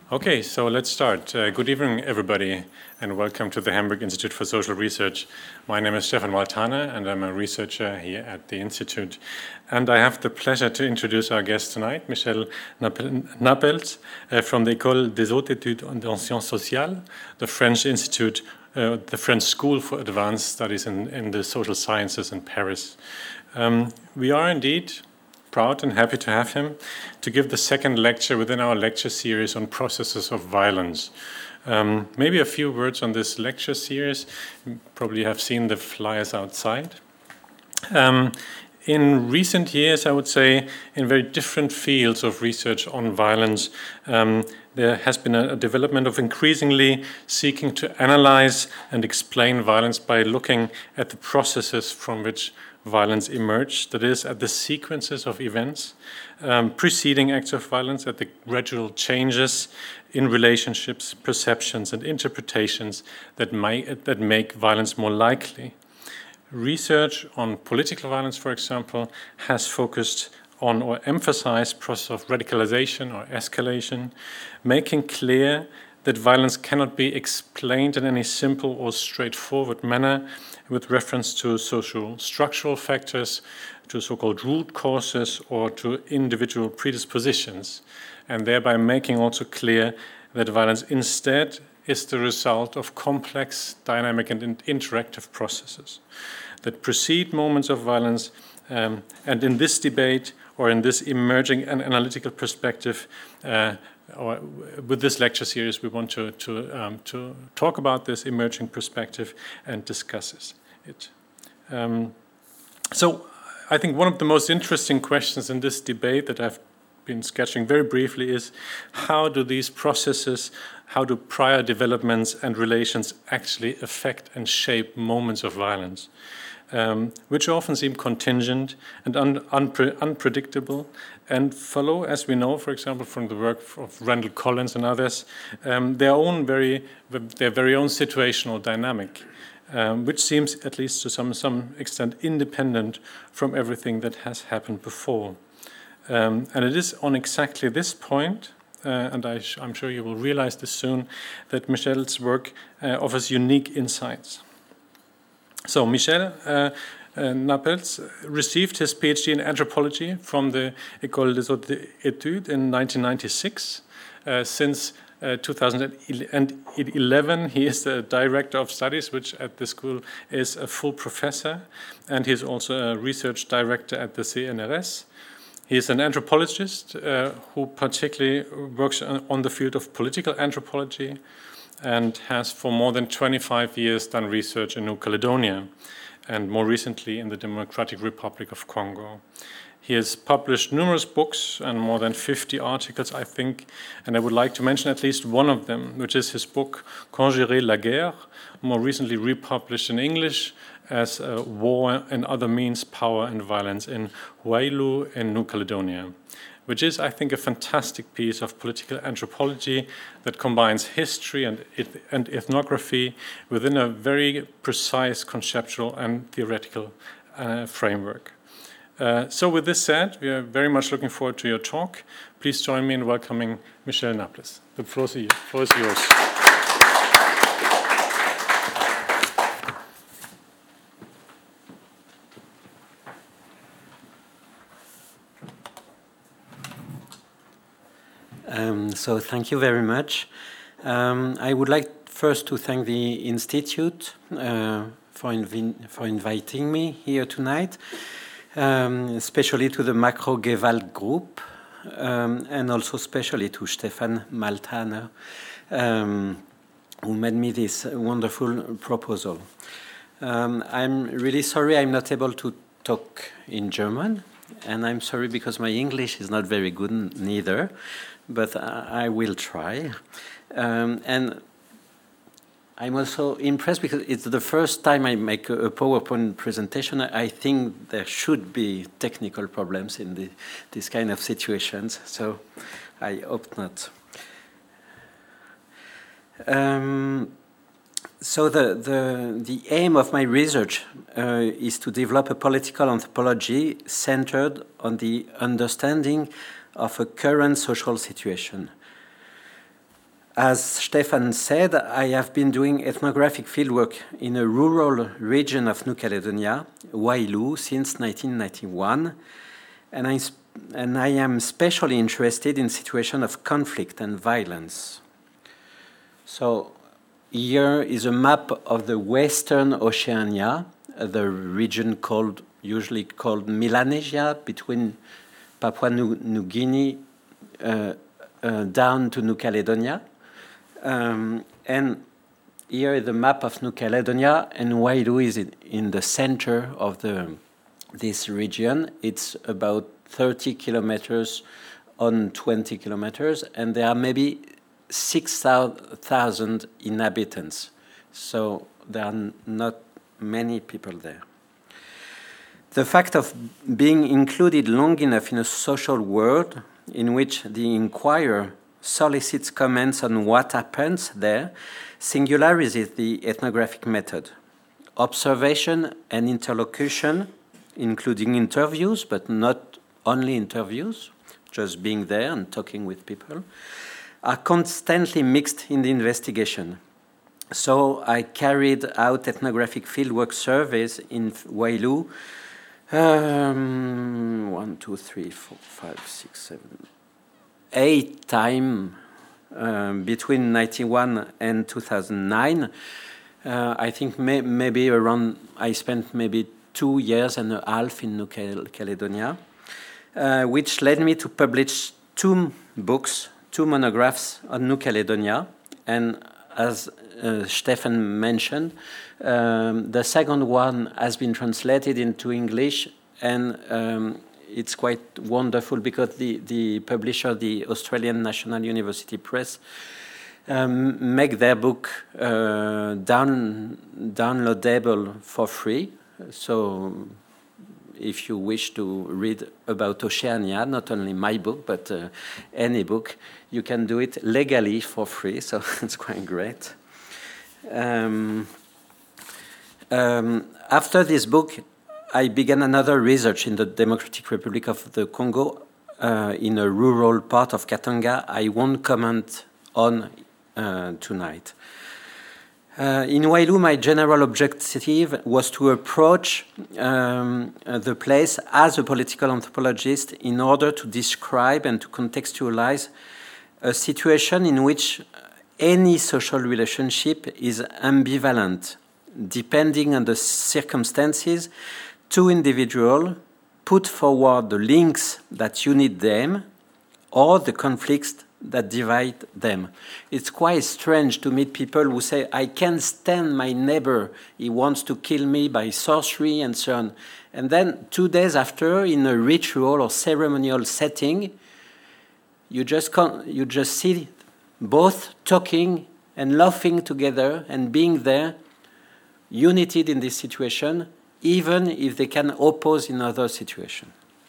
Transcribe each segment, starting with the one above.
Okay, so let's start. Good evening, everybody, and welcome to the Hamburg Institute for Social Research. My name is Stefan Waltana, and I'm a researcher here at the Institute. And I have the pleasure to introduce our guest tonight, Michel Napels, from the École des Hautes Études en Sciences Sociales, the French Institute, the French School for Advanced Studies in the Social Sciences in Paris. We are indeed proud and happy to have him to give the second lecture within our lecture series on processes of violence. Maybe a few words on this lecture series. You probably have seen the flyers outside. In recent years, I would say, in very different fields of research on violence, there has been a development of increasingly seeking to analyze and explain violence by looking at the processes from which violence emerged, that is, at the sequences of events preceding acts of violence, at the gradual changes in relationships, perceptions, and interpretations that make violence more likely. Research on political violence, for example, has focused on or emphasized process of radicalization or escalation, making clear that violence cannot be explained in any simple or straightforward manner with reference to social structural factors, to so-called root causes, or to individual predispositions, and thereby making also clear that violence instead is the result of complex, dynamic, and interactive processes that precede moments of violence. And in this debate, or in this emerging and analytical perspective, or with this lecture series, we want to talk about this emerging perspective and discuss it. So I think one of the most interesting questions in this debate that I've been sketching very briefly is how do these processes, how do prior developments and relations actually affect and shape moments of violence? Which often seem contingent and unpredictable, and follow, as we know, for example, from the work of Randall Collins and others, their very own situational dynamic, which seems, at least to some extent, independent from everything that has happened before. And it is on exactly this point, and I'm sure you will realize this soon, that Michel's work offers unique insights. So Michel Napels received his PhD in anthropology from the École des Hautes Études in 1996. Since 2011, he is the director of studies, which at the school is a full professor, and he is also a research director at the CNRS. He is an anthropologist who particularly works on the field of political anthropology, and has for more than 25 years done research in New Caledonia, and more recently in the Democratic Republic of Congo. He has published numerous books and more than 50 articles, I think, and I would like to mention at least one of them, which is his book, Quand gérer la guerre, more recently republished in English as War and Other Means, Power and Violence in Houailou in New Caledonia, which is, I think, a fantastic piece of political anthropology that combines history and ethnography within a very precise conceptual and theoretical framework. So with this said, we are very much looking forward to your talk. Please join me in welcoming Michel Napels. The floor is yours. So thank you very much. I would like first to thank the Institute for inviting me here tonight, especially to the Macro-Gewalt group, and also especially to Stefan Maltana, who made me this wonderful proposal. I'm really sorry I'm not able to talk in German, and I'm sorry because my English is not very good neither, but I will try. And I'm also impressed because it's the first time I make a PowerPoint presentation. I think there should be technical problems in this kind of situations, so I hope not. So the aim of my research is to develop a political anthropology centered on the understanding of a current social situation. As Stefan said, I have been doing ethnographic fieldwork in a rural region of New Caledonia, Wailu, since 1991, and I am especially interested in situations of conflict and violence. So here is a map of the Western Oceania, the region usually called Melanesia, between Papua New Guinea down to New Caledonia. And here is the map of New Caledonia, and Wailu is in the center of this region. It's about 30 kilometers on 20 kilometers, and there are maybe 6,000 inhabitants. So there are not many people there. The fact of being included long enough in a social world in which the inquirer solicits comments on what happens there singularizes the ethnographic method. Observation and interlocution, including interviews, but not only interviews, just being there and talking with people, are constantly mixed in the investigation. So I carried out ethnographic fieldwork surveys in Wailu 1, 2, 3, 4, 5, 6, 7, 8 times between 1991 and 2009. I think maybe around, I spent maybe 2 years and a half in New Caledonia, which led me to publish 2 books, 2 monographs on New Caledonia. And as Stefan mentioned, the second one has been translated into English, and it's quite wonderful because the publisher, the Australian National University Press, make their book downloadable for free. So if you wish to read about Oceania, not only my book, but any book, you can do it legally for free, so it's quite great. After this book, I began another research in the Democratic Republic of the Congo, in a rural part of Katanga. I won't comment on tonight. In Wailu, my general objective was to approach the place as a political anthropologist in order to describe and to contextualize a situation in which any social relationship is ambivalent, depending on the circumstances. 2 individuals put forward the links that unite them or the conflicts that divide them. It's quite strange to meet people who say, I can't stand my neighbor, he wants to kill me by sorcery and so on. And then 2 days after, in a ritual or ceremonial setting, you just see both talking and laughing together and being there, united in this situation, even if they can oppose in other situations.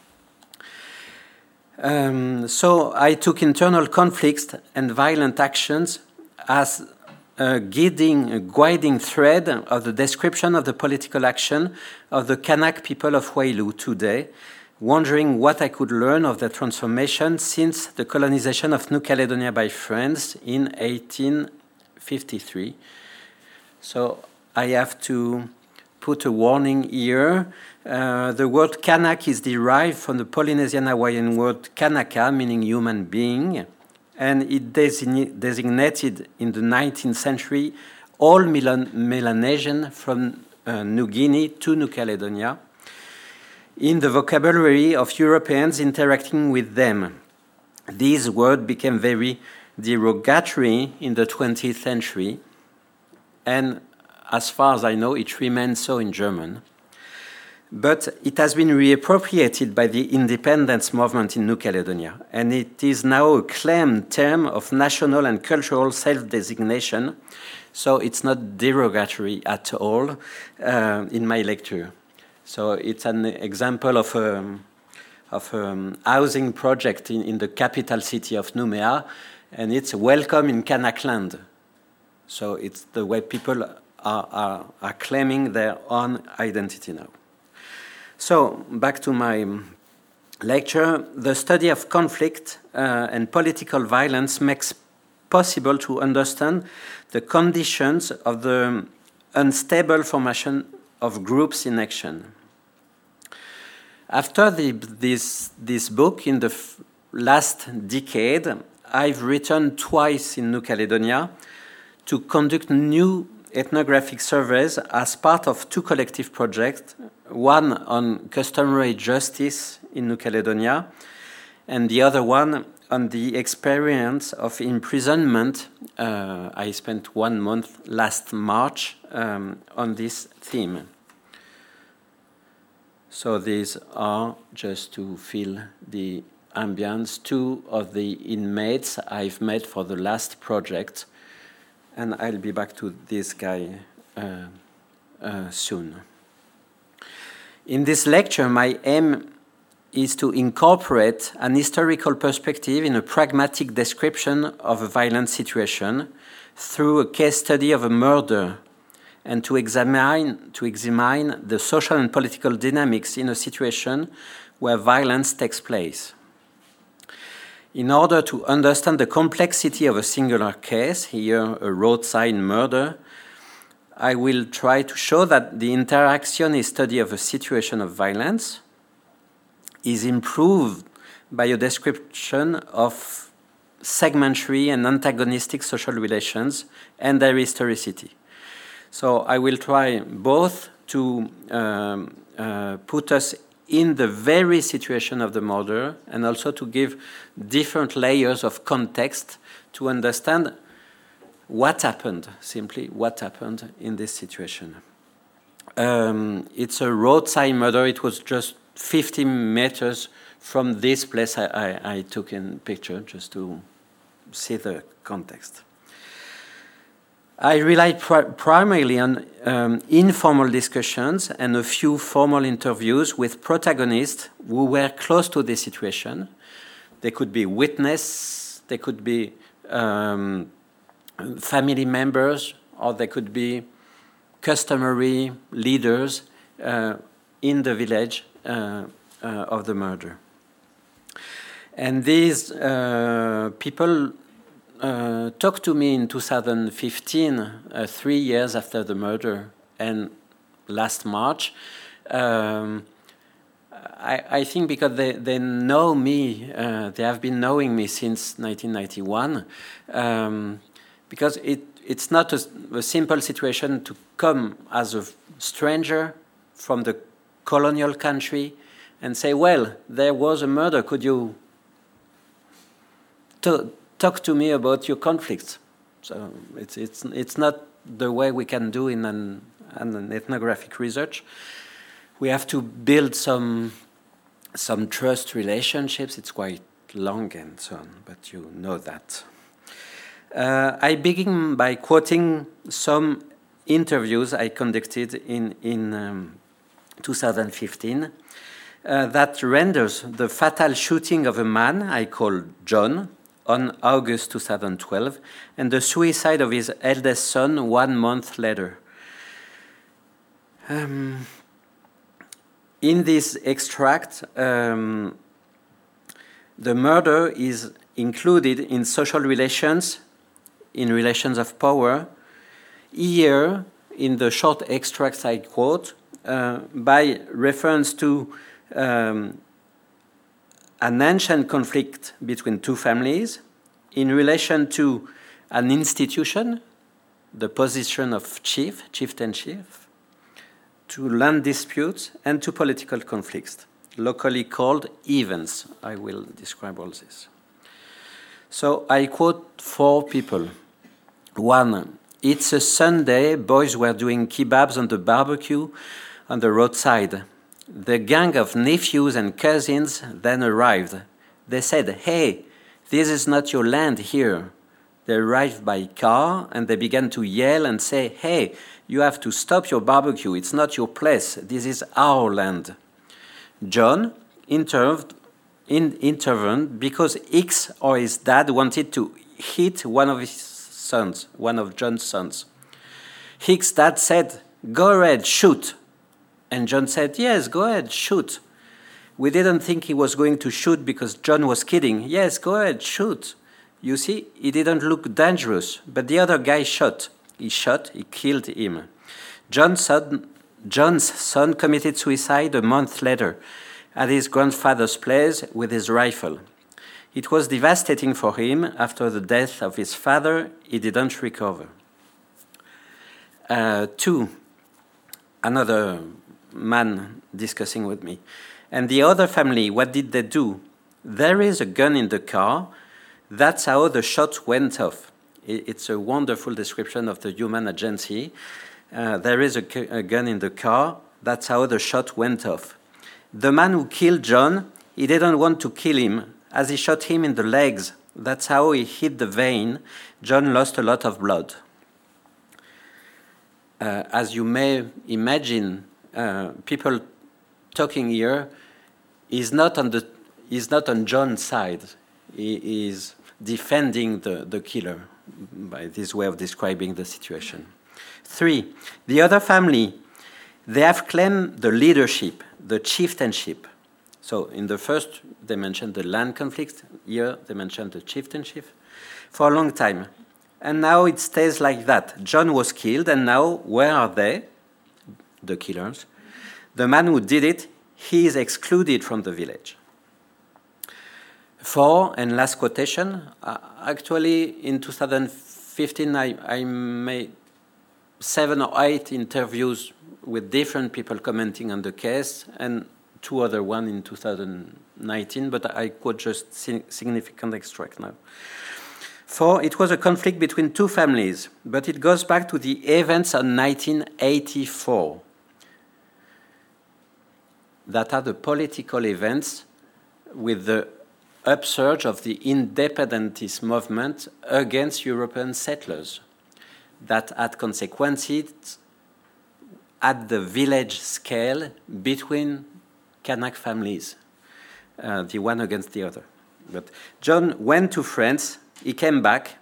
So I took internal conflicts and violent actions as a guiding thread of the description of the political action of the Kanak people of Wailu today, wondering what I could learn of their transformation since the colonization of New Caledonia by France in 1853. So I have to put a warning here. The word Kanak is derived from the Polynesian Hawaiian word Kanaka, meaning human being, and it designated in the 19th century all Melanesians from New Guinea to New Caledonia in the vocabulary of Europeans interacting with them. This word became very derogatory in the 20th century, and as far as I know, it remains so in German. But it has been reappropriated by the independence movement in New Caledonia, and it is now a claimed term of national and cultural self-designation, so it's not derogatory at all in my lecture. So it's an example of a housing project in the capital city of Nouméa, and it's welcome in Kanakland. So it's the way people are claiming their own identity now. So, back to my lecture. The study of conflict and political violence makes possible to understand the conditions of the unstable formation of groups in action. After this book, in the last decade, I've returned twice in New Caledonia to conduct new ethnographic surveys as part of two collective projects, one on customary justice in New Caledonia, and the other one on the experience of imprisonment. I spent 1 month last March on this theme. So these are, just to feel the ambience, two of the inmates I've met for the last project, and I'll be back to this guy soon. In this lecture, my aim is to incorporate an historical perspective in a pragmatic description of a violent situation through a case study of a murder, and to examine the social and political dynamics in a situation where violence takes place. In order to understand the complexity of a singular case, here a roadside murder, I will try to show that the interactionist study of a situation of violence is improved by a description of segmentary and antagonistic social relations and their historicity. So I will try both to put us in the very situation of the murder and also to give different layers of context to understand what happened, simply what happened in this situation. It's a roadside murder. It was just 50 meters from this place I took in picture just to see the context. I relied primarily on informal discussions and a few formal interviews with protagonists who were close to the situation. They could be witnesses, they could be family members, or they could be customary leaders in the village of the murder. And these people talked to me in 2015, 3 years after the murder, and last March. I think because they know me, they have been knowing me since 1991, because it's not a simple situation to come as a stranger from the colonial country and say, well, there was a murder, could you talk to me about your conflicts? So it's not the way we can do in an ethnographic research. We have to build some trust relationships. It's quite long and so on, but you know that. I begin by quoting some interviews I conducted in 2015 that renders the fatal shooting of a man I call John on August 2012 and the suicide of his eldest son 1 month later. In this extract, the murder is included in social relations, in relations of power. Here, in the short extracts I quote, by reference to an ancient conflict between two families, in relation to an institution, the position of chieftainship, to land disputes, and to political conflicts, locally called events. I will describe all this. So I quote 4 people. 1, it's a Sunday, boys were doing kebabs on the barbecue on the roadside. The gang of nephews and cousins then arrived. They said, hey, this is not your land here. They arrived by car and they began to yell and say, hey, you have to stop your barbecue. It's not your place. This is our land. John intervened because X or his dad wanted to hit one of his sons, one of John's sons. Hicks' dad said, go ahead, shoot. And John said, yes, go ahead, shoot. We didn't think he was going to shoot because John was kidding. Yes, go ahead, shoot. You see, he didn't look dangerous, but the other guy shot. He killed him. John's son committed suicide a month later at his grandfather's place with his rifle. It was devastating for him. After the death of his father, he didn't recover. 2. Another man discussing with me. And the other family, what did they do? There is a gun in the car. That's how the shot went off. It's a wonderful description of the human agency. There is a gun in the car. That's how the shot went off. The man who killed John, he didn't want to kill him, as he shot him in the legs. That's how he hit the vein. John lost a lot of blood. As you may imagine, people talking here is not on John's side. He is defending the killer by this way of describing the situation. 3. The other family, they have claimed the leadership, the chieftainship. So in the first, they mentioned the land conflict. Here, they mentioned the chieftainship for a long time. And now it stays like that. John was killed, and now where are they? The killers. The man who did it, he is excluded from the village. 4, and last quotation. Actually, in 2015, I made 7 or 8 interviews with different people commenting on the case, and 2 other ones in 2019, but I quote just significant extract now. 4, it was a conflict between 2 families, but it goes back to the events of 1984. That are the political events with the upsurge of the independentist movement against European settlers that had consequences at the village scale between Kanak families, the one against the other. But John went to France, he came back.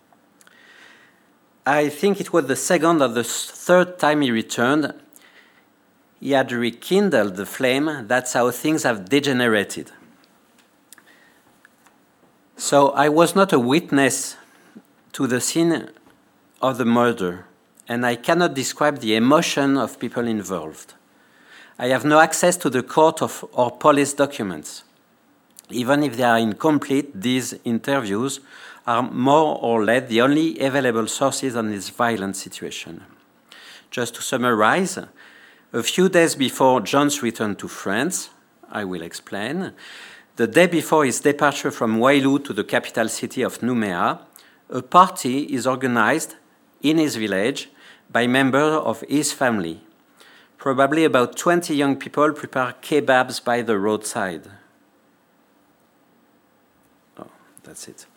I think it was the second or the third time he returned. He had rekindled the flame. That's how things have degenerated. So I was not a witness to the scene of the murder, and I cannot describe the emotion of people involved. I have no access to the court or police documents. Even if they are incomplete, these interviews are more or less the only available sources on this violent situation. Just to summarize, a few days before John's return to France, I will explain, the day before his departure from Wailu to the capital city of Nouméa, a party is organized in his village by members of his family. Probably about 20 young people prepare kebabs by the roadside. Oh, that's it.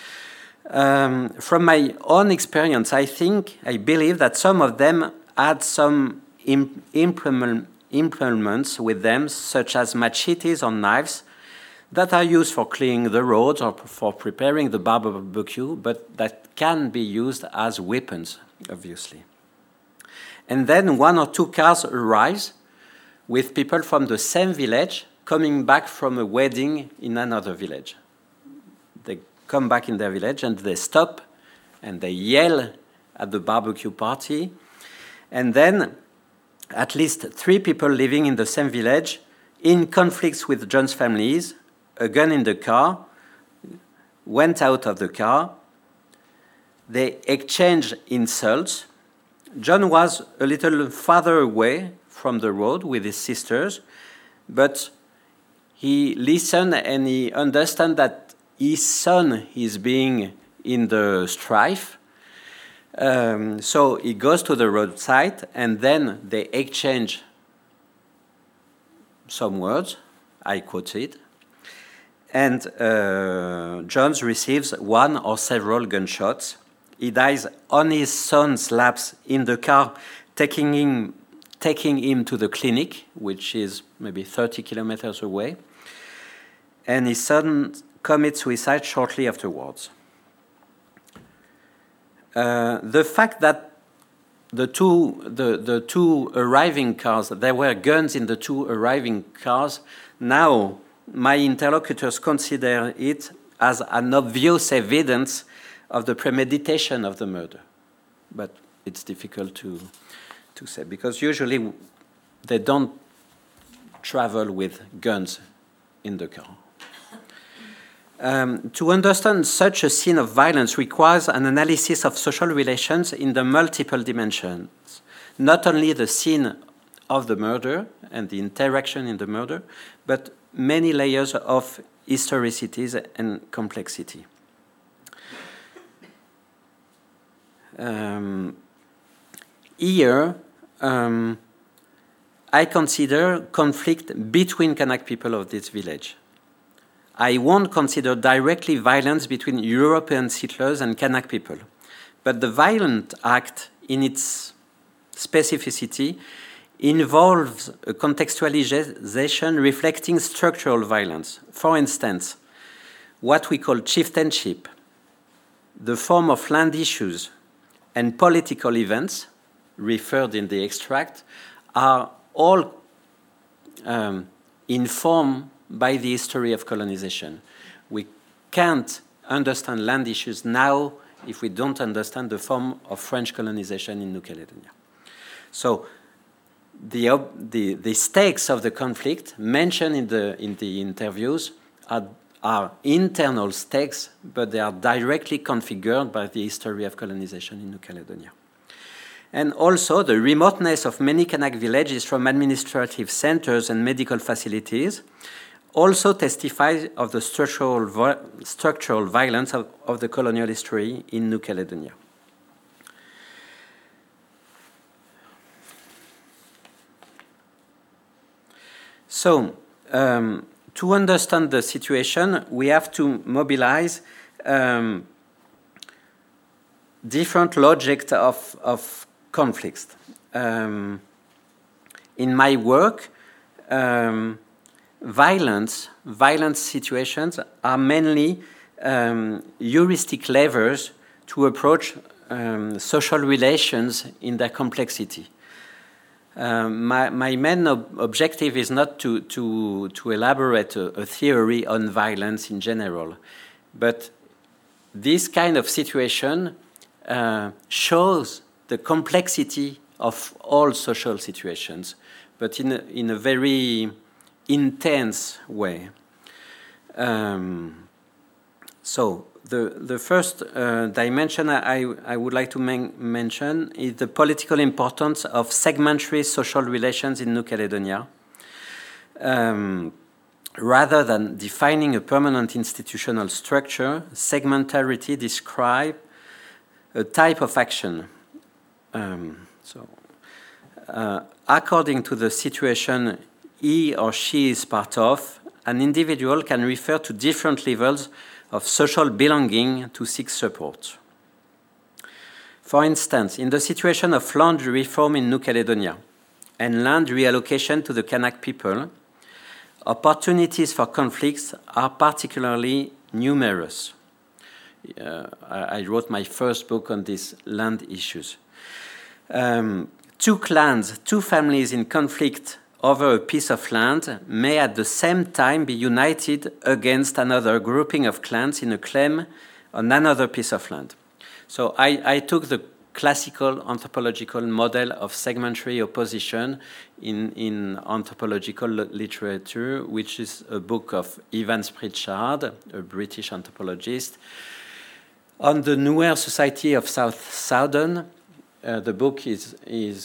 From my own experience, I believe that some of them had some implements with them, such as machetes or knives, that are used for clearing the roads or for preparing the barbecue, but that can be used as weapons, obviously. And then 1 or 2 cars arrive with people from the same village coming back from a wedding in another village. They come back in their village and they stop and they yell at the barbecue party. And then at least 3 people living in the same village in conflicts with John's families, a gun in the car, went out of the car. They exchanged insults. John was a little farther away from the road with his sisters, but he listened and he understood that his son is being in the strife. So he goes to the roadside and then they exchange some words. I quote it. And John receives 1 or several gunshots. He dies on his son's laps in the car, taking him to the clinic, which is maybe 30 kilometers away. And his son commits suicide shortly afterwards. The fact that the two arriving cars, there were guns in the 2 arriving cars, now my interlocutors consider it as an obvious evidence of the premeditation of the murder. But it's difficult to say, because usually they don't travel with guns in the car. To understand such a scene of violence requires an analysis of social relations in the multiple dimensions, not only the scene of the murder and the interaction in the murder, but many layers of historicities and complexity. Here, I consider conflict between Kanak people of this village. I won't consider directly violence between European settlers and Kanak people, but the violent act in its specificity involves a contextualization reflecting structural violence. For instance, what we call chieftainship, the form of land issues, and political events referred in the extract are all informed by the history of colonization. We can't understand land issues now if we don't understand the form of French colonization in New Caledonia. So the stakes of the conflict mentioned in the interviews are internal stakes, but they are directly configured by the history of colonization in New Caledonia. And also the remoteness of many Kanak villages from administrative centers and medical facilities also testifies of the structural violence of the colonial history in New Caledonia. So, to understand the situation, we have to mobilize different logics of conflicts. In my work, violence situations are mainly heuristic levers to approach social relations in their complexity. My main objective is not to elaborate a theory on violence in general, but this kind of situation shows the complexity of all social situations, but in a very intense way. So the first dimension I would like to mention is the political importance of segmentary social relations in New Caledonia. Rather than defining a permanent institutional structure, segmentarity describes a type of action. According to the situation he or she is part of, an individual can refer to different levels of social belonging to seek support. For instance, in the situation of land reform in New Caledonia and land reallocation to the Kanak people, opportunities for conflicts are particularly numerous. I wrote my first book on these land issues. Two clans, two families in conflict over a piece of land may at the same time be united against another grouping of clans in a claim on another piece of land. So I took the classical anthropological model of segmentary opposition in anthropological literature, which is a book of Evans Pritchard, a British anthropologist, on the Nuer Society of South Southern. The book is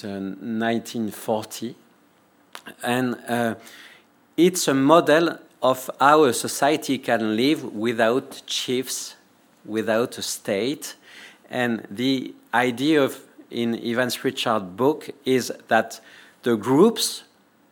1940. And it's a model of how a society can live without chiefs, without a state. And the idea in Evans Pritchard's book is that the groups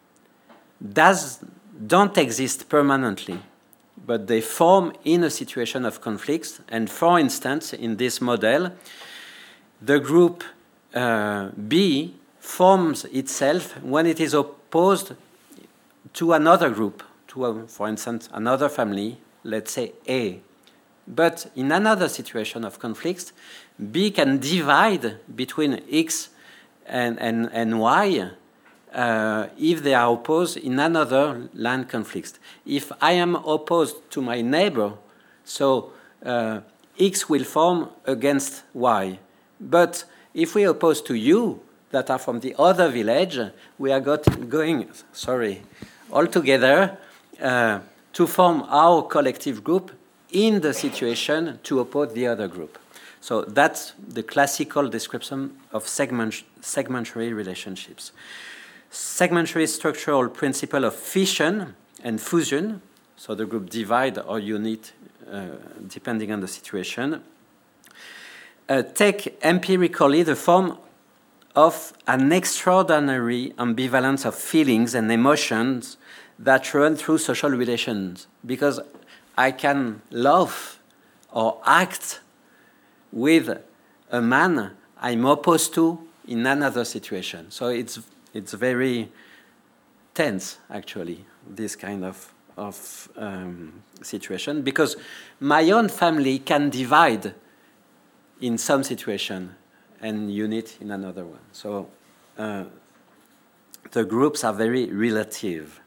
don't exist permanently, but they form in a situation of conflicts. And for instance, in this model, the group B forms itself when it is opposed to another group, for instance, another family, let's say A. But in another situation of conflicts, B can divide between X and Y if they are opposed in another land conflict. If I am opposed to my neighbor, So X will form against Y. But if we oppose to U that are from the other village, we are going all together to form our collective group in the situation to oppose the other group. So that's the classical description of segmentary relationships. Segmentary structural principle of fission and fusion, so the group divide or unite depending on the situation, take empirically the form of an extraordinary ambivalence of feelings and emotions that run through social relations. Because I can love or act with a man I'm opposed to in another situation. So it's very tense, actually, this kind of situation, because my own family can divide in some situation and unite in another one. So the groups are very relative.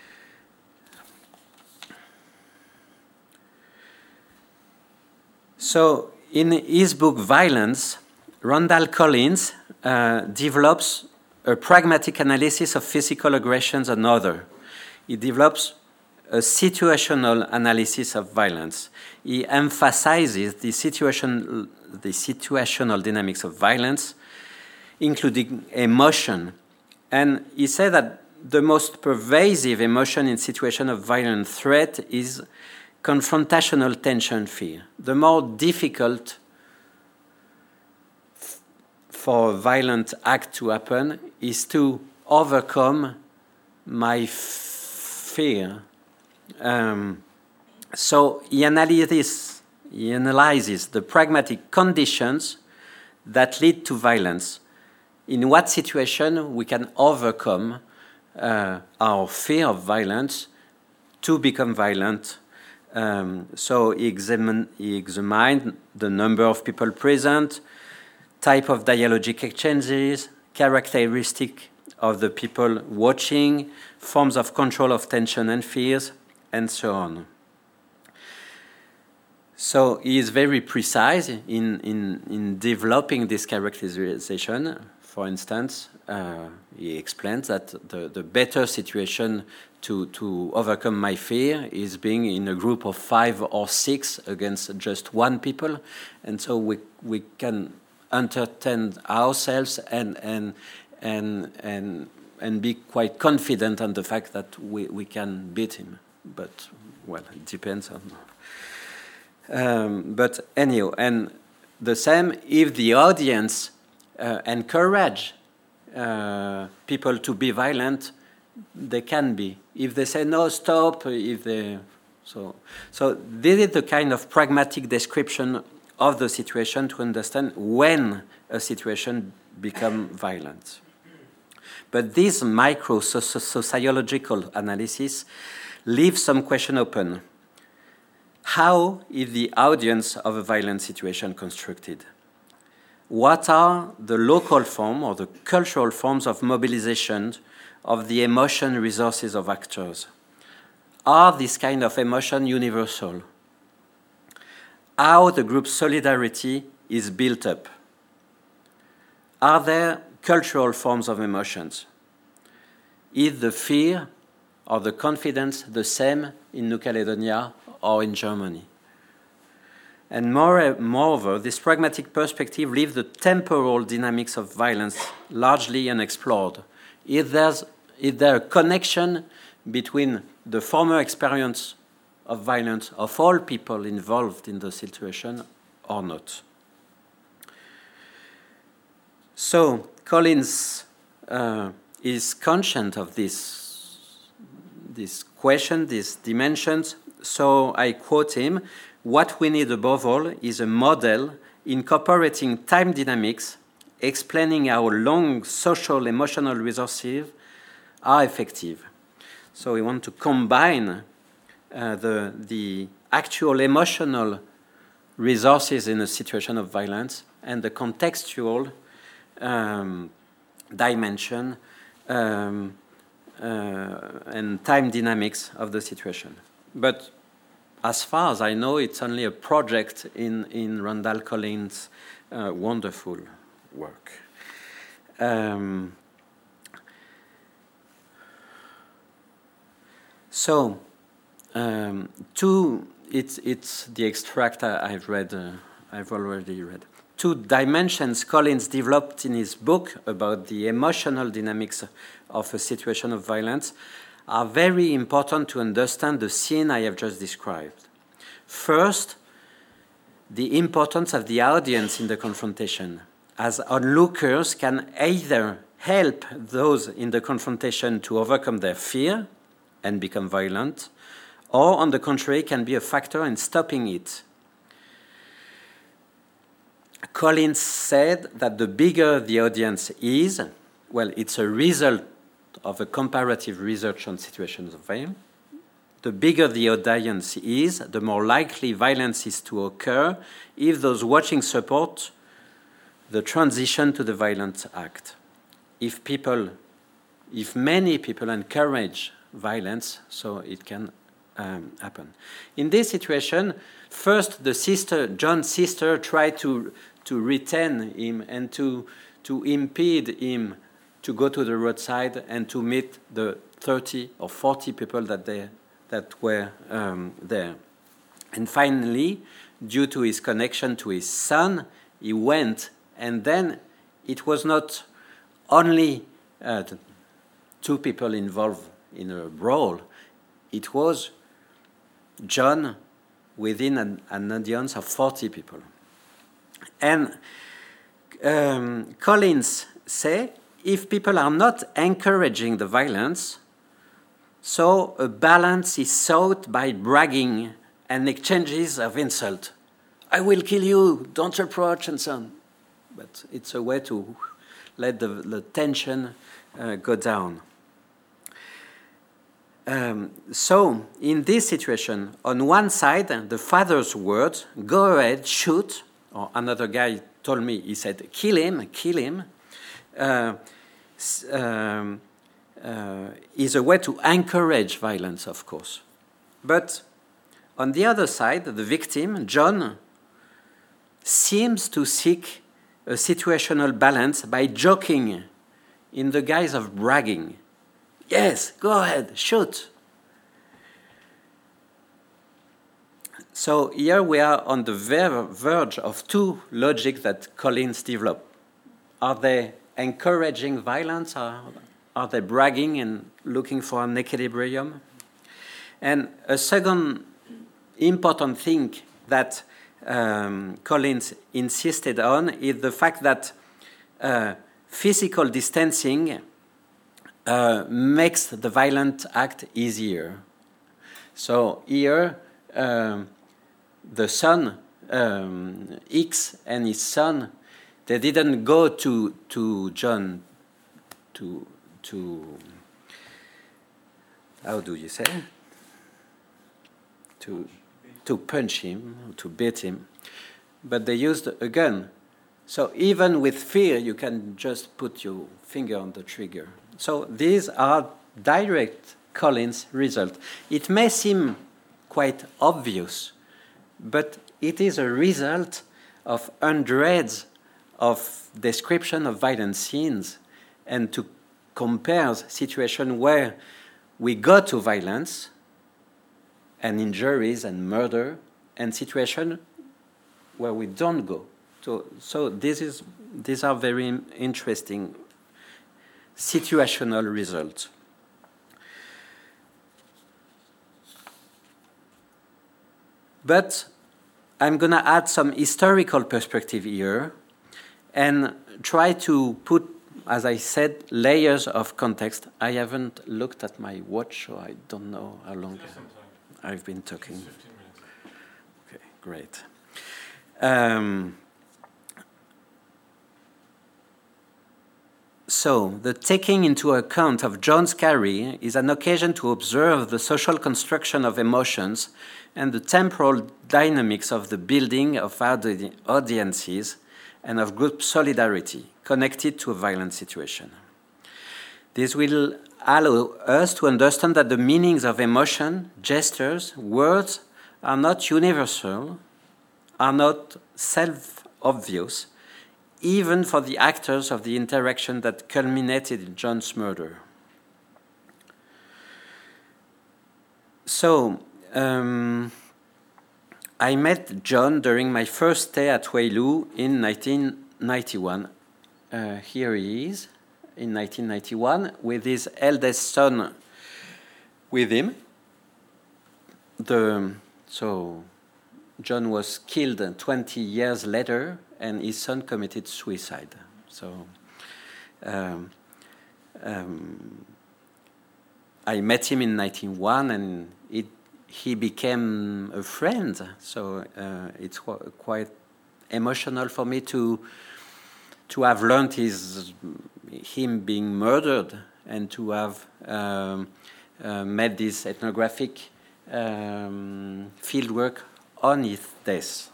So in his book Violence, Randall Collins develops a pragmatic analysis of physical aggressions and other. He develops a situational analysis of violence. He emphasizes the situational dynamics of violence, including emotion. And he said that the most pervasive emotion in situation of violent threat is confrontational tension fear. The more difficult for a violent act to happen is to overcome my fear. So he analyzes the pragmatic conditions that lead to violence. In what situation we can overcome our fear of violence to become violent. So he examined the number of people present, type of dialogic exchanges, characteristic of the people watching, forms of control of tension and fears, and so on. So he is very precise in developing this characterization. For instance, he explains that the better situation to overcome my fear is being in a group of 5 or 6 against just one people, and so we can entertain ourselves and be quite confident on the fact that we can beat him. But well, it depends on. But anyhow, and the same if the audience encourage people to be violent, they can be. If they say no, stop. So this is the kind of pragmatic description of the situation to understand when a situation becomes violent. But this micro-sociological analysis leaves some question open. How is the audience of a violent situation constructed? What are the local form or the cultural forms of mobilization of the emotion resources of actors? Are this kind of emotion universal? How the group solidarity is built up? Are there cultural forms of emotions? Is the fear or the confidence the same in New Caledonia or in Germany? And moreover, this pragmatic perspective leaves the temporal dynamics of violence largely unexplored. Is there a connection between the former experience of violence of all people involved in the situation or not? So Collins is conscious of this question, these dimensions. So I quote him, "What we need above all is a model incorporating time dynamics, explaining how long social emotional resources are effective." So we want to combine the actual emotional resources in a situation of violence and the contextual dimension and time dynamics of the situation. But as far as I know, it's only a project in Randall Collins' wonderful work. It's the extract I've already read. 2 dimensions Collins developed in his book about the emotional dynamics of a situation of violence are very important to understand the scene I have just described. First, the importance of the audience in the confrontation, as onlookers can either help those in the confrontation to overcome their fear and become violent, or on the contrary, can be a factor in stopping it. Collins said that the bigger the audience is, well, it's a result of a comparative research on situations of violence. The bigger the audience is, the more likely violence is to occur if those watching support the transition to the violent act. If many people encourage violence, so it can happen. In this situation, first John's sister tried to retain him and to impede him to go to the roadside and to meet the 30 or 40 people that were there. And finally, due to his connection to his son, he went, and then it was not only 2 people involved in a brawl, it was John within an audience of 40 people. And Collins say, if people are not encouraging the violence, so a balance is sought by bragging and exchanges of insult. I will kill you, don't approach, and so on. But it's a way to let the tension go down. So, in this situation, on one side, the father's words, go ahead, shoot, or another guy told me, he said, kill him, is a way to encourage violence, of course. But on the other side, the victim, John, seems to seek a situational balance by joking in the guise of bragging. Yes, go ahead, shoot. So here we are on the verge of 2 logics that Collins developed. Are they encouraging violence? Are they bragging and looking for an equilibrium? And a second important thing that Collins insisted on is the fact that physical distancing makes the violent act easier. So here, the son, X and his son, they didn't go to John to how do you say? To punch him, to beat him, but they used a gun. So even with fear, you can just put your finger on the trigger. So these are direct Collins results. It may seem quite obvious, but it is a result of hundreds of description of violent scenes, and to compare situations where we go to violence and injuries and murder, and situations where we don't go. So these are very interesting situational results. But I'm going to add some historical perspective here and try to put, as I said, layers of context. I haven't looked at my watch, so I don't know how long I've been talking. 15 minutes. Okay, great. So, the taking into account of John's carry is an occasion to observe the social construction of emotions and the temporal dynamics of the building of audiences and of group solidarity connected to a violent situation. This will allow us to understand that the meanings of emotion, gestures, words are not universal, are not self-obvious, even for the actors of the interaction that culminated in John's murder. So, I met John during my first stay at Weilou in 1991. Here he is, in 1991, with his eldest son with him. So John was killed 20 years later, and his son committed suicide. So I met him in 1991, and he became a friend. So it's quite emotional for me to have learned him being murdered, and to have made this ethnographic fieldwork on his death.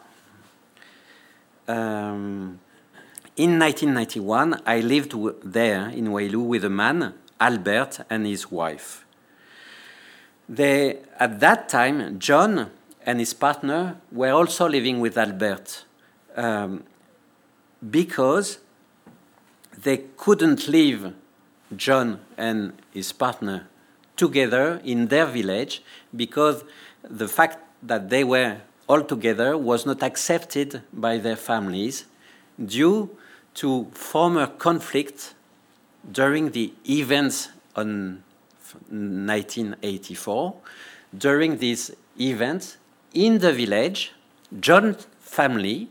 In 1991, I lived there in Weilou with a man, Albert, and his wife. At that time, John and his partner were also living with Albert because they couldn't leave John and his partner together in their village, because the fact that they were all together was not accepted by their families due to former conflict during the events on 1984. During these events in the village, John's family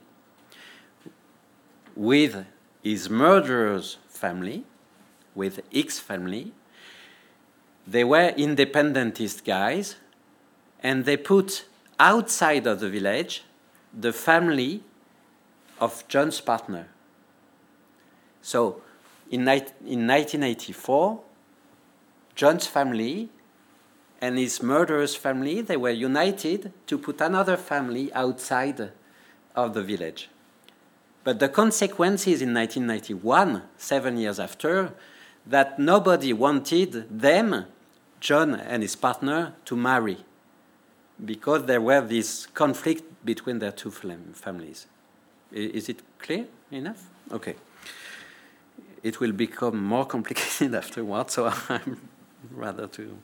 with his murderer's family, with X family, they were independentist guys, and they put outside of the village the family of John's partner. So in 1984, John's family and his murderer's family, they were united to put another family outside of the village. But the consequences in 1991, 7 years after, that nobody wanted them, John and his partner, to marry, because there were this conflict between their two families. Is it clear enough? Okay. It will become more complicated afterwards, so I'm rather to...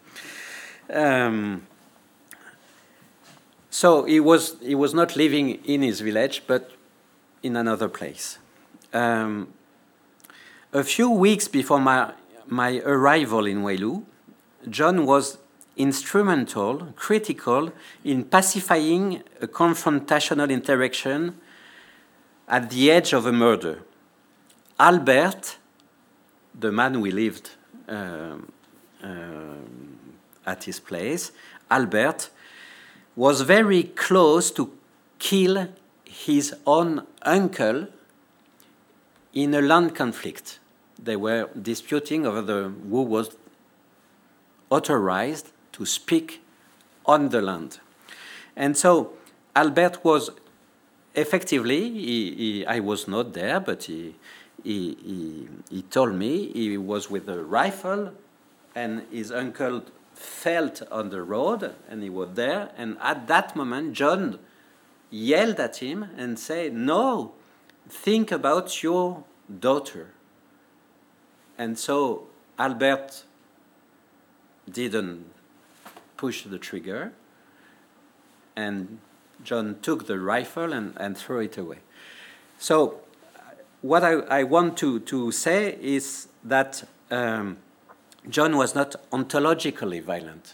So he was not living in his village, but in another place. A few weeks before my arrival in Weilou, John was instrumental, critical in pacifying a confrontational interaction at the edge of a murder. Albert, the man we lived at his place, Albert was very close to kill his own uncle in a land conflict. They were disputing over who was authorized to speak on the land. And so Albert was effectively, I was not there, but he told me he was with a rifle, and his uncle fell on the road, and he was there. And at that moment, John yelled at him and said, "No, think about your daughter." And so Albert didn't push the trigger, and John took the rifle and threw it away. So what I want to say is that John was not ontologically violent.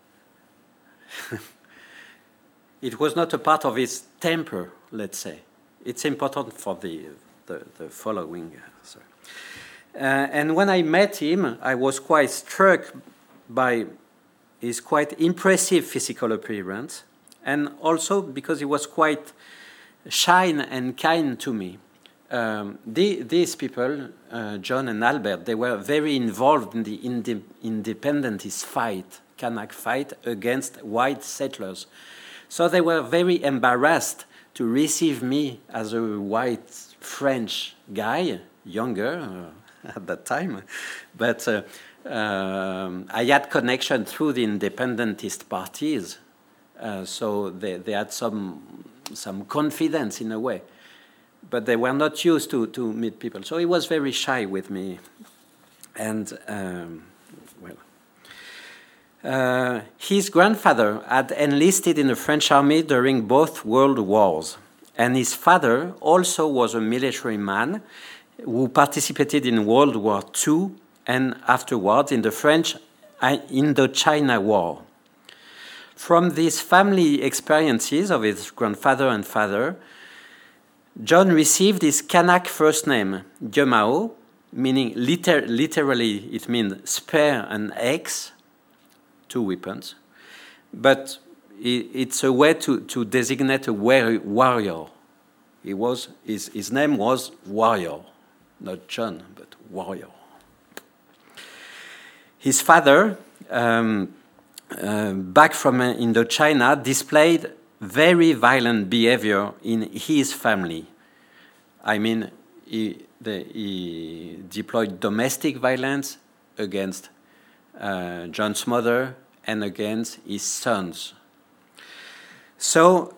It was not a part of his temper, let's say. It's important for the following. And when I met him, I was quite struck by his quite impressive physical appearance, and also because he was quite shy and kind to me. These people, John and Albert, they were very involved in the independentist fight, Kanak fight against white settlers. So they were very embarrassed to receive me as a white French guy, younger at that time. But I had connection through the independentist parties So they had some confidence in a way. But they were not used to meet people. So he was very shy with me. And, his grandfather had enlisted in the French army during both world wars. And his father also was a military man who participated in World War II and afterwards in the French Indochina War. From these family experiences of his grandfather and father, John received his Kanak first name, Diemao, meaning literally it means spear and axe, two weapons, but it's a way to designate a warrior. His name was Warrior, not John, but Warrior. His father, back from Indochina, displayed very violent behavior in his family. I mean, he deployed domestic violence against John's mother and against his sons. So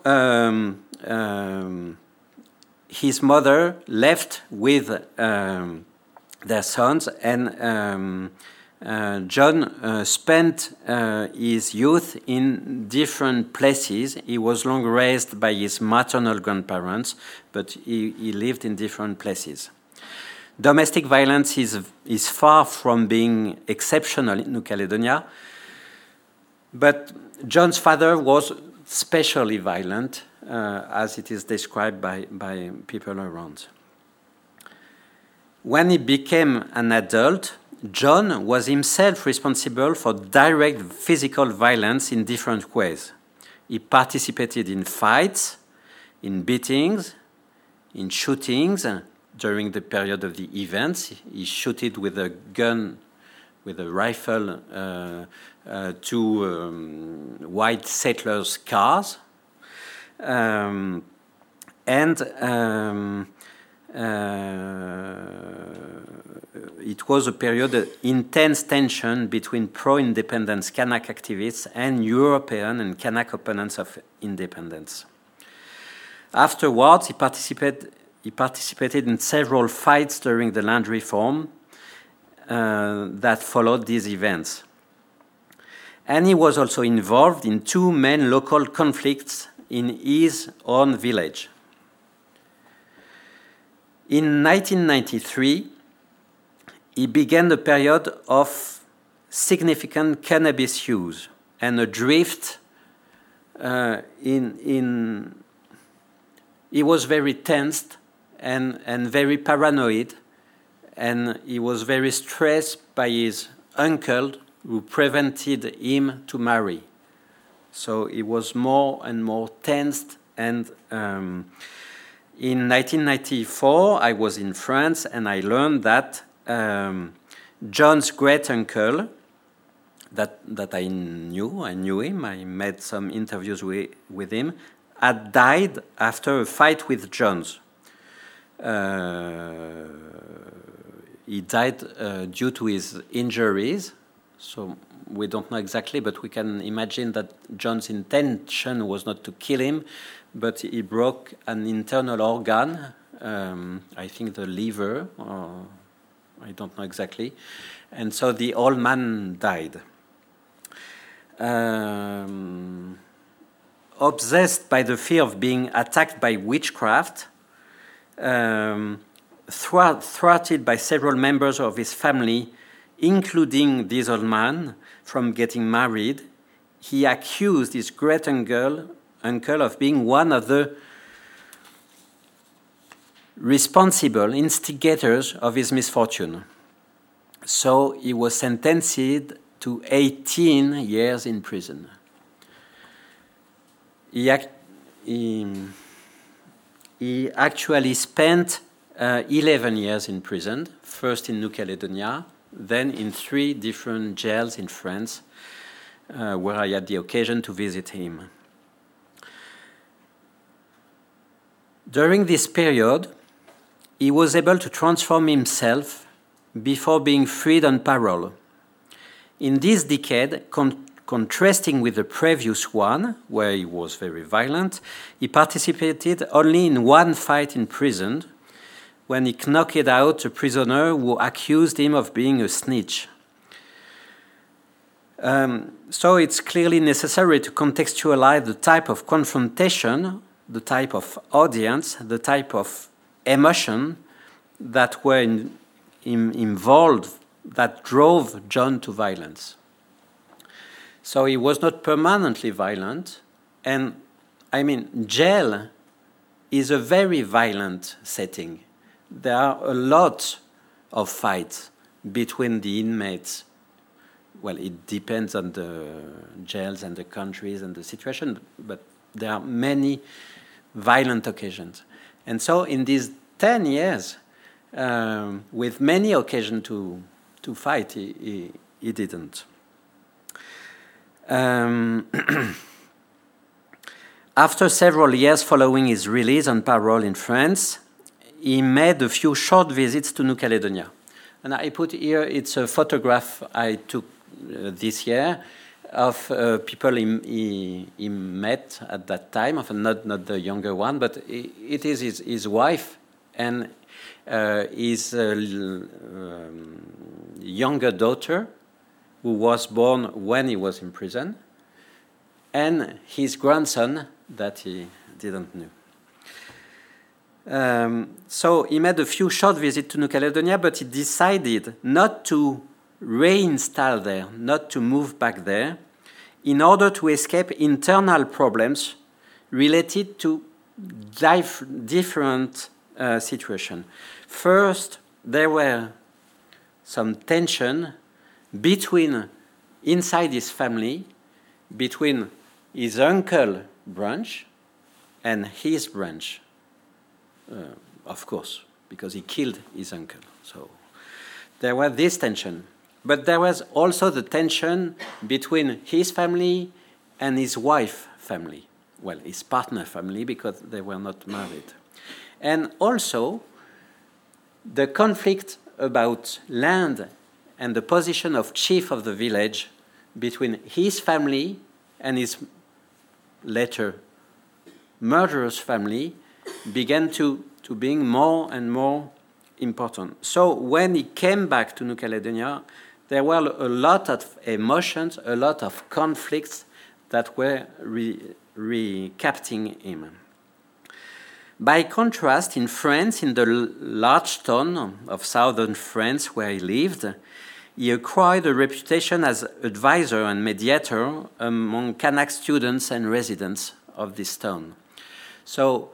his mother left with their sons, and John spent his youth in different places. He was long raised by his maternal grandparents, but he lived in different places. Domestic violence is far from being exceptional in New Caledonia, but John's father was especially violent, as it is described by people around. When he became an adult, John was himself responsible for direct physical violence in different ways. He participated in fights, in beatings, in shootings. During the period of the events, he shooted with a gun, with a rifle, to white settlers' cars. It was a period of intense tension between pro-independence Kanak activists and European and Kanak opponents of independence. Afterwards, he participated in several fights during the land reform that followed these events. And he was also involved in two main local conflicts in his own village. In 1993, he began a period of significant cannabis use and a drift he was very tensed and very paranoid, and he was very stressed by his uncle who prevented him to marry. So he was more and more tensed, and in 1994 I was in France and I learned that John's great uncle, that I knew him, I made some interviews with him, had died after a fight with John's. He died due to his injuries, so we don't know exactly, but we can imagine that John's intention was not to kill him, but he broke an internal organ, I think the liver, or I don't know exactly, and so the old man died. Obsessed by the fear of being attacked by witchcraft, thwarted by several members of his family, including this old man, from getting married, he accused his great uncle of being one of the responsible instigators of his misfortune. So he was sentenced to 18 years in prison. He actually spent 11 years in prison, first in New Caledonia, then in 3 different jails in France, where I had the occasion to visit him. During this period, he was able to transform himself before being freed on parole. In this decade, contrasting with the previous one, where he was very violent, he participated only in one fight in prison, when he knocked out a prisoner who accused him of being a snitch. So it's clearly necessary to contextualize the type of confrontation, the type of audience, the type of emotion that were involved, that drove John to violence. So he was not permanently violent, and I mean, jail is a very violent setting. There are a lot of fights between the inmates. Well, it depends on the jails and the countries and the situation, but there are many violent occasions. And so in these 10 years, with many occasions to fight, he didn't. After several years following his release on parole in France, he made a few short visits to New Caledonia. And I put here, it's a photograph I took this year of people he met at that time, of not the younger one, but it is his wife and his younger daughter, who was born when he was in prison, and his grandson that he didn't know. So he made a few short visits to New Caledonia, but he decided not to reinstall there, not to move back there, in order to escape internal problems related to different situations. First, there were some tension between, inside his family, between his uncle branch and his branch, of course, because he killed his uncle. So there was this tension. But there was also the tension between his family and his wife's family. Well, his partner family, because they were not married. And also the conflict about land and the position of chief of the village between his family and his later murderous family began to being more and more important. So when he came back to New Caledonia, there were a lot of emotions, a lot of conflicts that were recapping him. By contrast, in France, in the large town of southern France where he lived, he acquired a reputation as advisor and mediator among Kanak students and residents of this town. So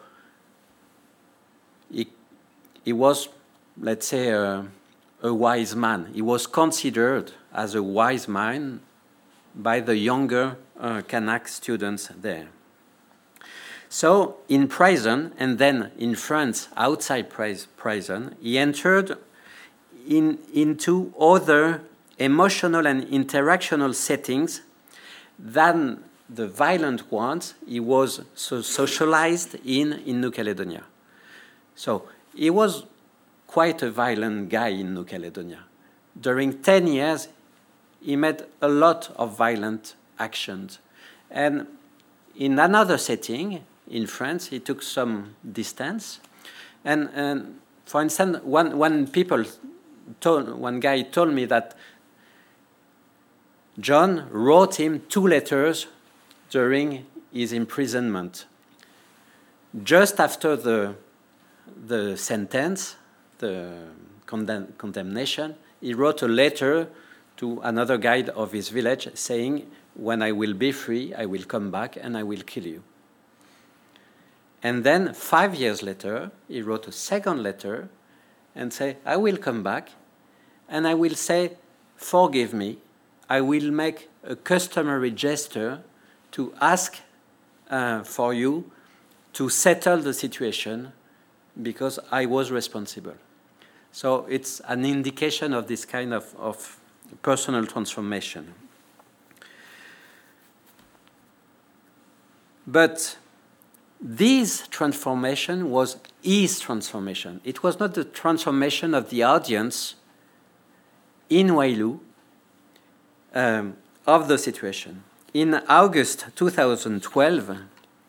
he was, let's say, a wise man. He was considered as a wise man by the younger Kanak students there. So in prison, and then in France, outside prison, he entered into other emotional and interactional settings than the violent ones he was socialized in New Caledonia. So he was quite a violent guy in New Caledonia. During 10 years, he made a lot of violent actions. And in another setting, in France, he took some distance. And for instance, one guy told me that John wrote him 2 letters during his imprisonment. Just after the sentence, the condemnation, he wrote a letter to another guy of his village saying, "When I will be free, I will come back and I will kill you." And then 5 years later, he wrote a second letter and said, "I will come back and I will say, forgive me. I will make a customary gesture to ask for you to settle the situation because I was responsible." So it's an indication of this kind of personal transformation. But this transformation was his transformation. It was not the transformation of the audience in Wailu of the situation. In August 2012,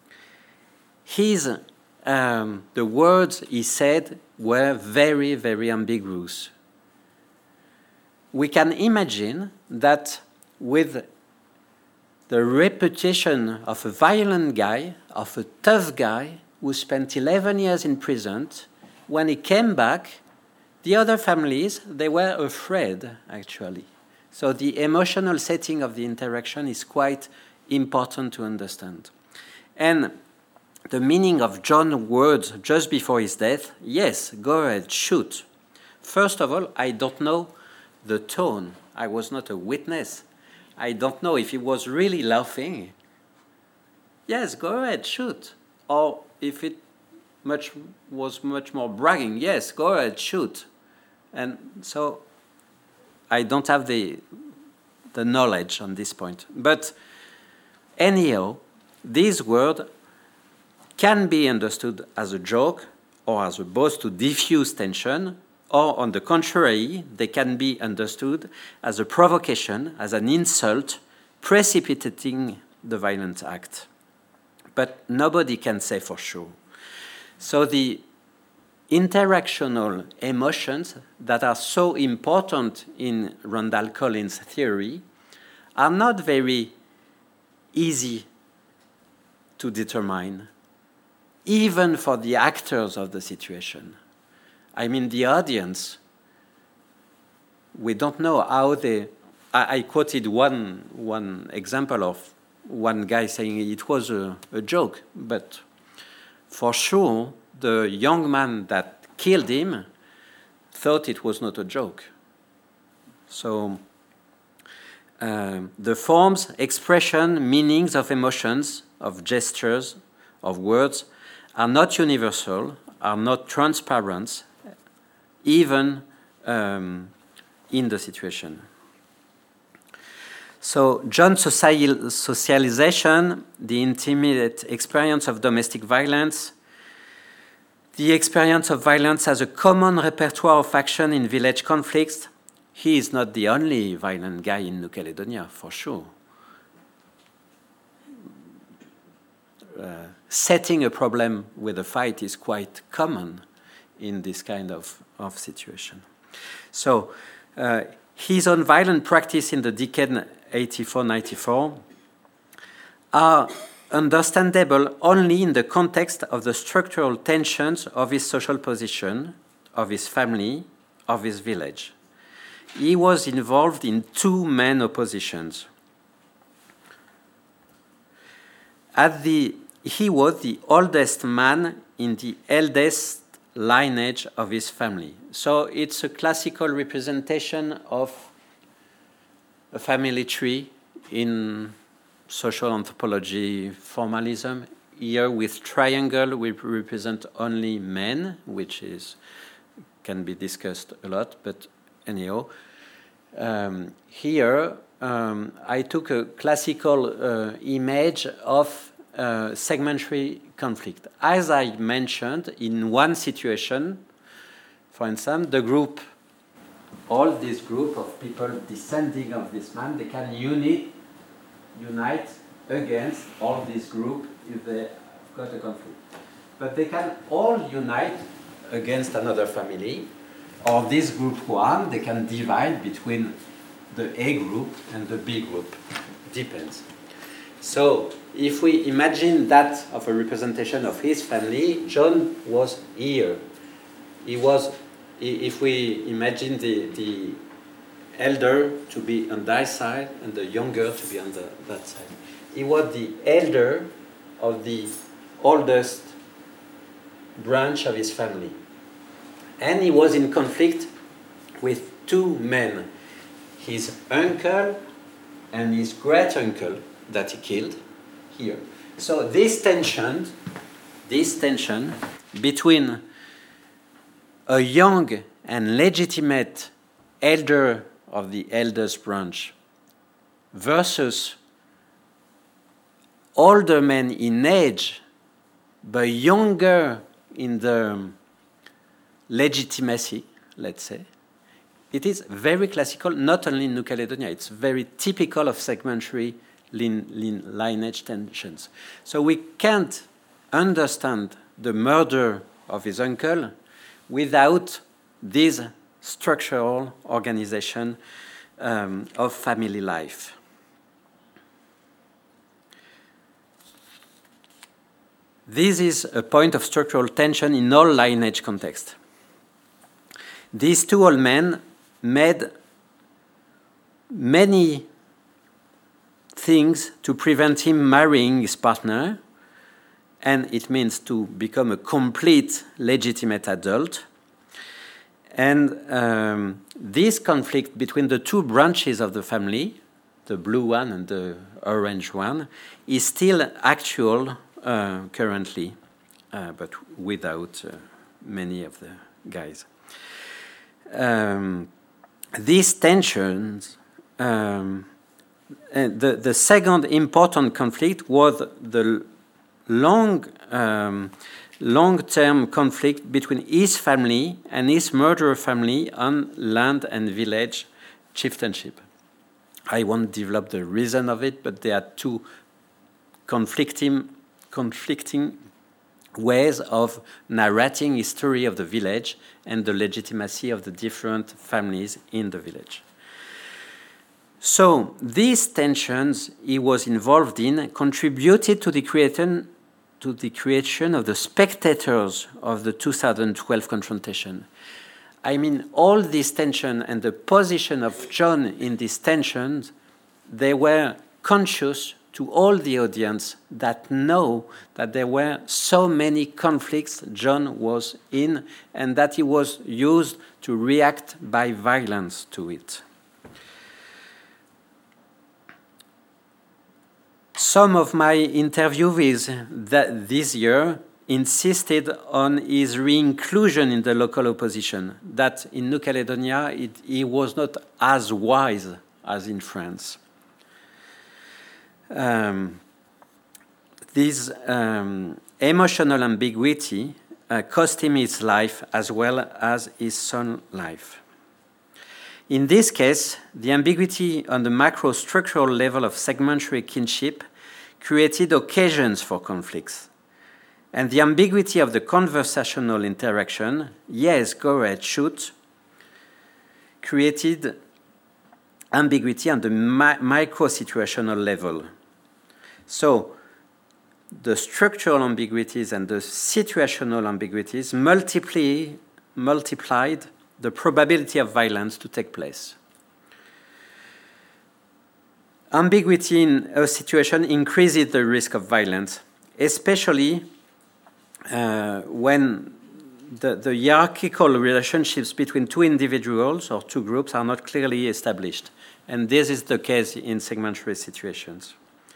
the words he said were very, very ambiguous. We can imagine that with the reputation of a violent guy, of a tough guy who spent 11 years in prison, when he came back, the other families, they were afraid, actually. So the emotional setting of the interaction is quite important to understand. And the meaning of John's words just before his death, yes, go ahead, shoot. First of all, I don't know the tone. I was not a witness. I don't know if he was really laughing. Yes, go ahead, shoot. Or if it was much more bragging, yes, go ahead, shoot. And so I don't have the knowledge on this point. But anyhow, this word can be understood as a joke or as a boast to diffuse tension, or on the contrary, they can be understood as a provocation, as an insult, precipitating the violent act. But nobody can say for sure. So the interactional emotions that are so important in Randall Collins' theory are not very easy to determine, even for the actors of the situation. I mean, the audience, we don't know how they... I quoted one example of one guy saying it was a joke, but for sure, the young man that killed him thought it was not a joke. So the forms, expression, meanings of emotions, of gestures, of words are not universal, are not transparent, even in the situation. So John's socialization, the intimate experience of domestic violence, the experience of violence as a common repertoire of action in village conflicts. He is not the only violent guy in New Caledonia, for sure. Setting a problem with a fight is quite common in this kind of situation. So his own violent practice in the decade 84-94 are understandable only in the context of the structural tensions of his social position, of his family, of his village. He was involved in two main oppositions. He was the oldest man in the eldest lineage of his family. So it's a classical representation of a family tree in social anthropology formalism. Here with triangle we represent only men, which can be discussed a lot, but anyhow. Here I took a classical image of segmentary conflict. As I mentioned, in one situation, for instance, all this group of people descending of this man, they can unite against all this group if they've got a conflict. But they can all unite against another family, or this group one, they can divide between the A group and the B group. Depends. So if we imagine that of a representation of his family, John was here. If we imagine the elder to be on that side and the younger to be on that side, he was the elder of the oldest branch of his family. And he was in conflict with two men, his uncle and his great-uncle that he killed here. So this tension between a young and legitimate elder of the eldest branch versus older men in age but younger in the legitimacy, let's say, it is very classical, not only in New Caledonia, it's very typical of segmentary lineage tensions. So we can't understand the murder of his uncle without this structural organization of family life. This is a point of structural tension in all lineage contexts. These two old men made many things to prevent him marrying his partner, and it means to become a complete legitimate adult. And this conflict between the two branches of the family, the blue one and the orange one, is still actual currently, but without many of the guys. These tensions, the second important conflict was the long-term conflict between his family and his murderer family on land and village chieftainship. I won't develop the reason of it, but there are two conflicting ways of narrating history of the village and the legitimacy of the different families in the village. So these tensions he was involved in contributed to the creation of the spectators of the 2012 confrontation. I mean, all this tension and the position of John in these tensions, they were conscious to all the audience that know that there were so many conflicts John was in and that he was used to react by violence to it. Some of my interviewees this year insisted on his re-inclusion in the local opposition, that in New Caledonia he was not as wise as in France. This emotional ambiguity cost him his life as well as his son's life. In this case, the ambiguity on the macro-structural level of segmentary kinship created occasions for conflicts. And the ambiguity of the conversational interaction, yes, go ahead, shoot, created ambiguity on the micro-situational level. So the structural ambiguities and the situational ambiguities multiplied the probability of violence to take place. Ambiguity in a situation increases the risk of violence, especially when the hierarchical relationships between two individuals or two groups are not clearly established. And this is the case in segmentary situations.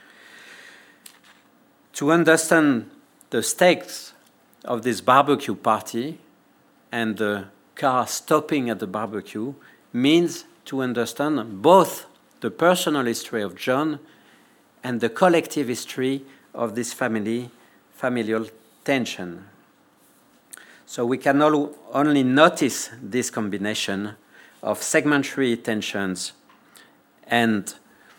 To understand the stakes of this barbecue party and the car stopping at the barbecue means to understand both the personal history of John and the collective history of this familial tension. So we can only notice this combination of segmentary tensions and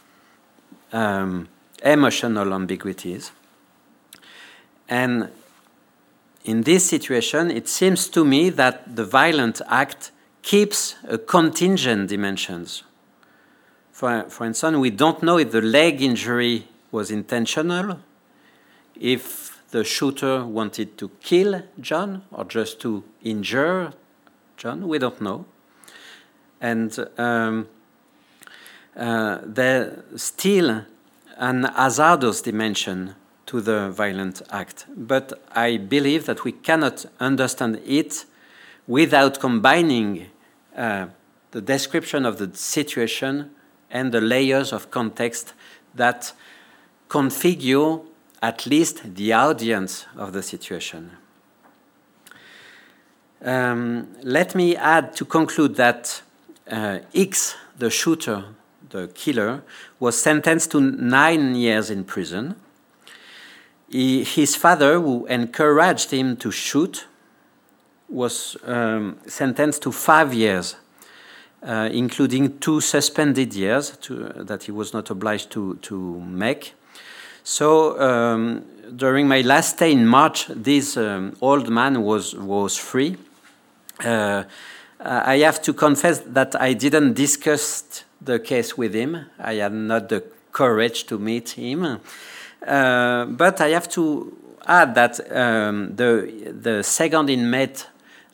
emotional ambiguities. And in this situation, it seems to me that the violent act keeps a contingent dimensions. For instance, we don't know if the leg injury was intentional, if the shooter wanted to kill John or just to injure John. We don't know. And there's still an hazardous dimension to the violent act. But I believe that we cannot understand it without combining the description of the situation and the layers of context that configure at least the audience of the situation. Let me add to conclude that X, the shooter, the killer, was sentenced to 9 years in prison. His father, who encouraged him to shoot, was sentenced to 5 years. including 2 suspended years that he was not obliged to make. So during my last stay in March, this old man was free. I have to confess that I didn't discuss the case with him. I had not the courage to meet him. But I have to add that the second inmate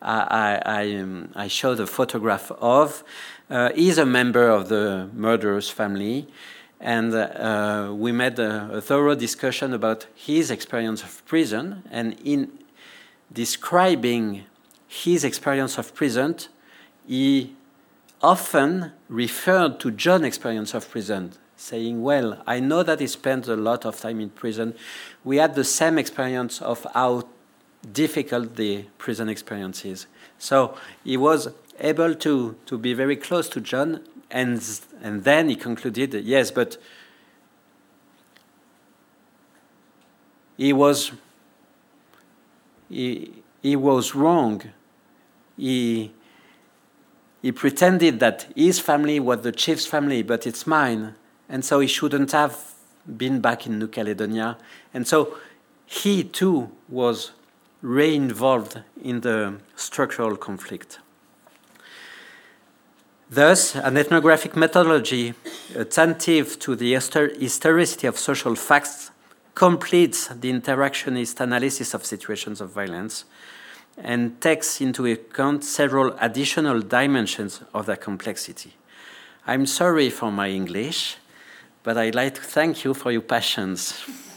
I showed a photograph of is a member of the murderer's family, and we made a thorough discussion about his experience of prison. And in describing his experience of prison, he often referred to John's experience of prison, saying, well, I know that he spent a lot of time in prison. We had the same experience of how difficult the prison experience is. So he was able to be very close to John, and then he concluded, yes, but he was wrong. He pretended that his family was the chief's family, but it's mine. And so he shouldn't have been back in New Caledonia. And so he too was re-involved in the structural conflict. Thus, an ethnographic methodology attentive to the historicity of social facts completes the interactionist analysis of situations of violence and takes into account several additional dimensions of their complexity. I'm sorry for my English, but I'd like to thank you for your patience.